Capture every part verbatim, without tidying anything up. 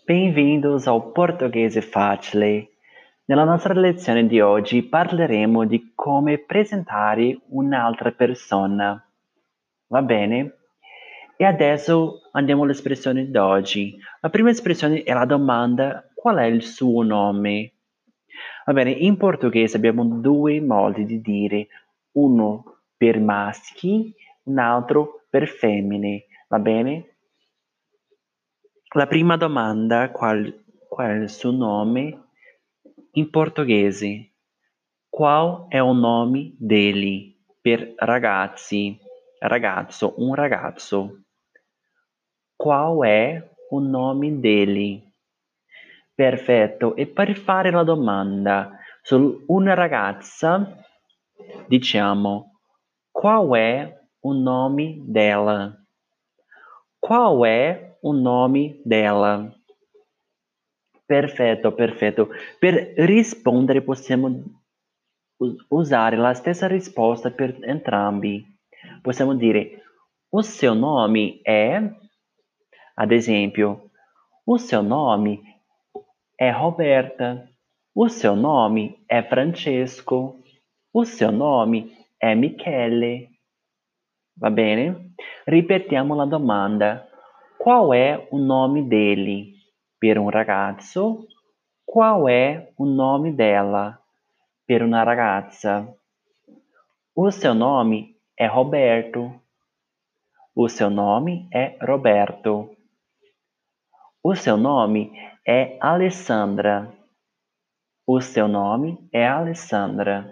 Bem-vindos ao Portoghese Facile. Nella nostra lezione di oggi parleremo di come presentare un'altra persona. Va bene? E adesso andiamo all'espressione di oggi. La prima espressione è la domanda: qual è il suo nome? Va bene, in portoghese abbiamo due modi di dire, uno per maschi, un altro per femmine, va bene? La prima domanda, qual, qual è il suo nome? In portoghese, qual è o nome dele? Per ragazzi, ragazzo, un ragazzo. Qual è o nome dele? Perfetto, e per fare la domanda su una ragazza, diciamo, qual è o nome dela? Qual è o nome dela? Perfetto, perfetto. Per rispondere possiamo us- usare la stessa risposta per entrambi. Possiamo dire, o seu nome è, ad esempio, o seu nome è Roberta, o seu nome è Francesco, o seu nome è Michele. Va bene? Ripetiamo la domanda. Qual è o nome dele? Per un ragazzo. Qual è o nome dela? Per una ragazza. O seu nome è Roberto. O seu nome è Roberto. O seu nome è Alessandra. O seu nome è Alessandra.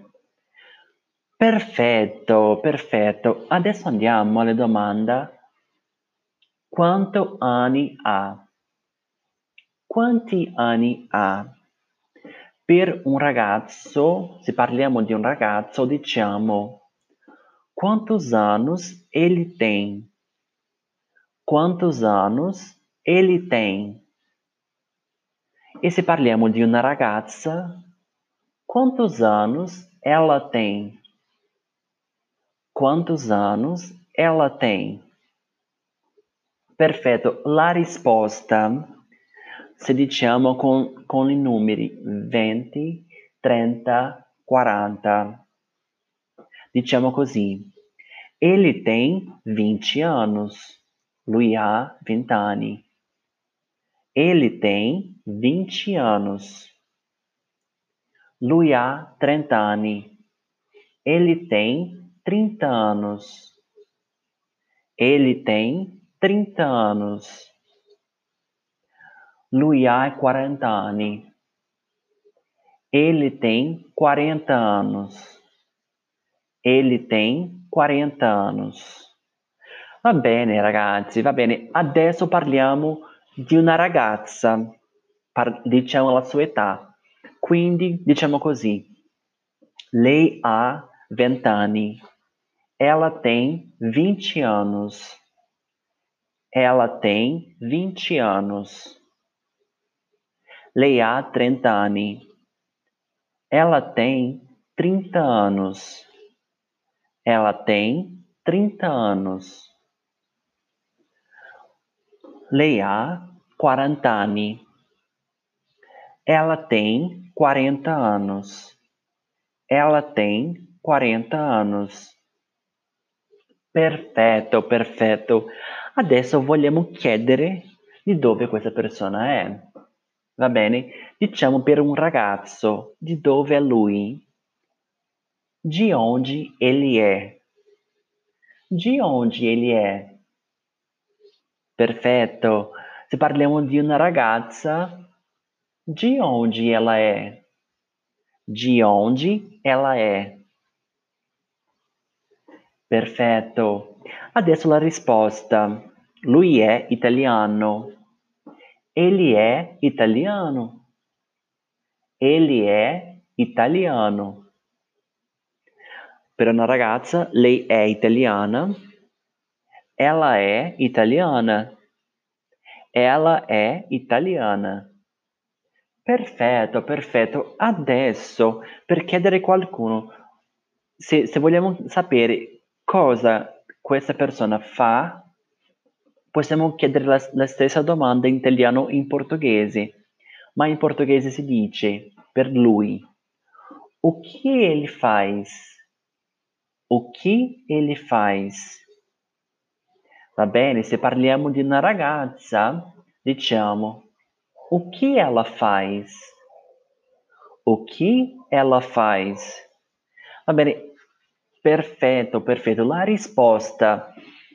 Perfetto, perfetto. Adesso andiamo alla domanda. Quanto anni ha? Quanti anni ha? Per un ragazzo, se parliamo di un ragazzo, diciamo quantos anos ele tem? Quantos anos ele tem? E se parliamo di una ragazza, quantos anos ela tem? Quantos anos ela tem? Perfetto, la risposta se diciamo con, con i numeri venti, trenta, quaranta. Diciamo così, ele tem vinte anos, lui ha venti anni. Ele tem vinte anos. Lui ha trenta anni. Ele tem trinta anos. Ele tem trinta anos. Lui ha quaranta anni. Ele tem quarenta anos. Ele tem quarenta anos. Va bene, ragazzi, va bene. Adesso parliamo di una ragazza. Par- diciamo la sua età. Quindi, diciamo così. Lei ha venti anni. Ela tem vinte anos. Ela tem vinte anos. Lei ha trenta anni. Ela tem trinta anos. Ela tem trinta anos. Lei ha quaranta anni. Ela tem quarenta anos. Ela tem quarenta anos. Perfetto, perfetto. Adesso vogliamo chiedere di dove questa persona è. Va bene? Diciamo per un ragazzo, di dove è lui? De onde ele é? De onde ele è? Perfetto. Se parliamo di una ragazza, de onde ela è? De onde ela è? Perfetto. Adesso la risposta. Lui è italiano. Ele è italiano. Ele è italiano. Per una ragazza, lei è italiana. Ela è italiana. Ela è italiana. Perfetto, perfetto. Adesso, per chiedere a qualcuno, se, se vogliamo sapere cosa questa persona fa, Possiamo chiedere la, la stessa domanda in italiano e in portoghese, ma in portoghese si dice per lui: o que ele faz? O que ele faz? Va bene, se parliamo di una ragazza, diciamo o que ela faz? O que ela faz? Va bene, perfetto, perfetto. La risposta,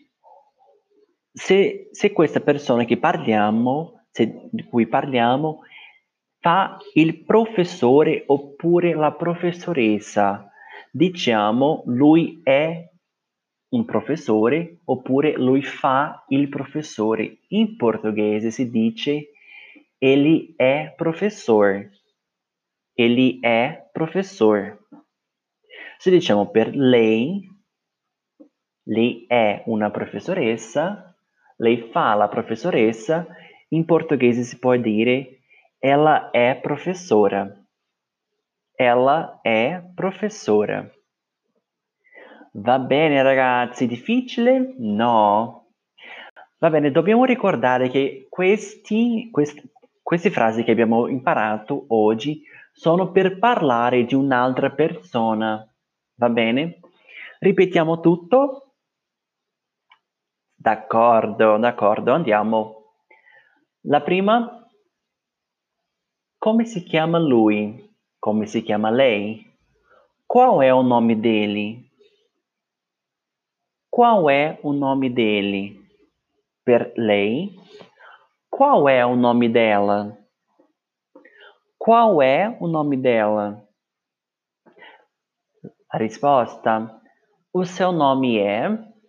se, se questa persona che parliamo, se, di cui parliamo, fa il professore oppure la professoressa, diciamo lui è un professore oppure lui fa il professore. In portoghese si dice ele é professor. Ele é professor. Se diciamo per lei, lei è una professoressa, lei fa la professoressa, in portoghese si può dire ela è professora. Ela è professora. Va bene ragazzi, difficile? No. Va bene, dobbiamo ricordare che questi, quest- queste frasi che abbiamo imparato oggi sono per parlare di un'altra persona. Va bene? Ripetiamo tutto? D'accordo, d'accordo, andiamo. La prima, come si chiama lui? Come si chiama lei? Qual é o nome dele? Qual é o nome dele? Per lei. Qual é o nome dela? Qual é o nome dela? A risposta: o seu nome é.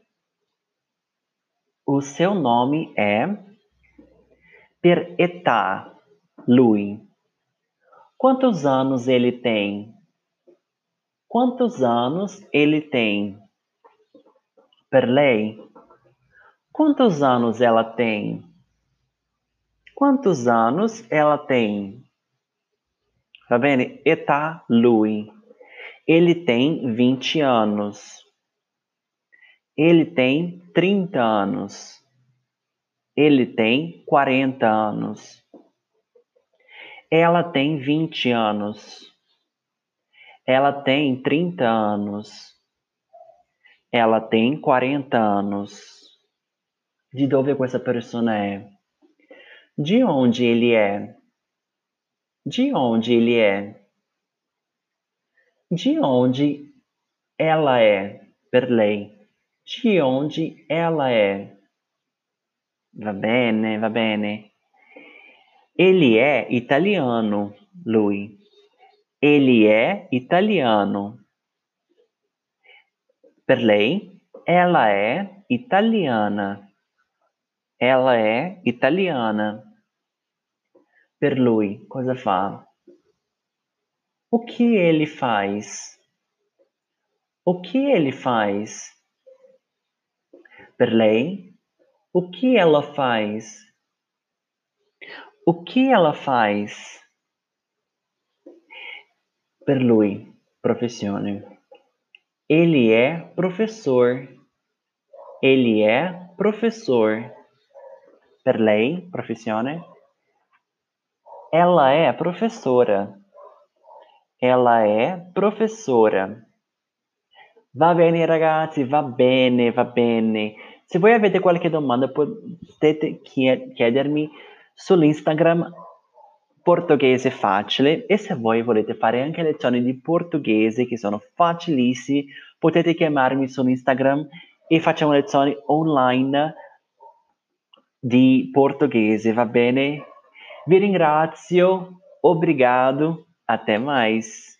O seu nome é. Per età, lui. Quantos anos ele tem? Quantos anos ele tem? Per lei. Quantos anos ela tem? Quantos anos ela tem? Va bene? Età, lui. Ele tem vinte anos. Ele tem trinta anos. Ele tem quarenta anos. Ela tem vinte anos. Ela tem trinta anos. Ela tem quarenta anos. De dove questa persona è? De onde ele é? De onde ele é? De onde ela é? Per lei. De onde ela é? Va bene, va bene. Ele é italiano, lui. Ele é italiano. Per lei, ela é italiana. Ela é italiana. Per lui, cosa fa? O que ele faz? O que ele faz? Per lei, o que ela faz? O que ela faz? Per lui, professione. Ele é professor. Ele é professor. Per lei, professione. Ela é professora. Ela é professora. Va bene ragazzi, va bene, va bene. Se voi avete qualche domanda potete chiedermi sull'Instagram Portoghese Facile, e se voi volete fare anche lezioni di portoghese che sono facilissime, potete chiamarmi su Instagram e facciamo lezioni online di portoghese, va bene? Vi ringrazio, obrigado, até mais.